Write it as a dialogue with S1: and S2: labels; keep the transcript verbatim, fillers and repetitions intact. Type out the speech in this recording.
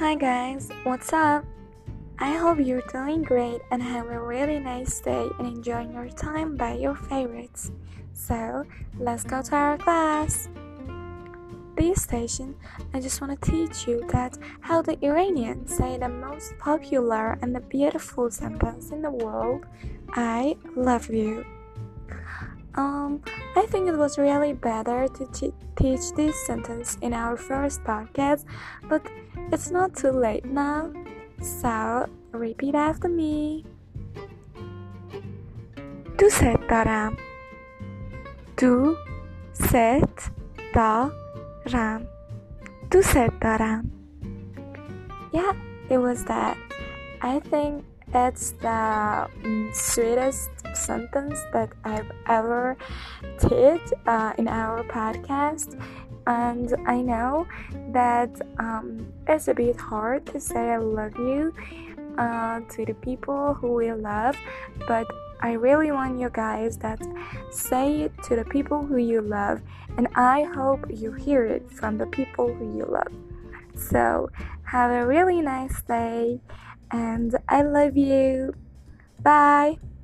S1: Hi guys, what's up? I hope you're doing great and have a really nice day and enjoying your time by your favorites. So, let's go to our class. This station, I just want to teach you that how the Iranians say the most popular and the beautiful sentence in the world, I love you. Um, I think it was really better to t- teach this sentence in our first podcast, but it's not too late now. So, repeat after me. دوست دارم. دوست دارم. دوست دارم. Yeah, it was that. I think it's the um, sweetest sentence that I've ever did uh, in our podcast, and I know that um, it's a bit hard to say I love you uh, to the people who we love, but I really want you guys that say it to the people who you love, and I hope you hear it from the people who you love. So have a really nice day, and I love you. Bye.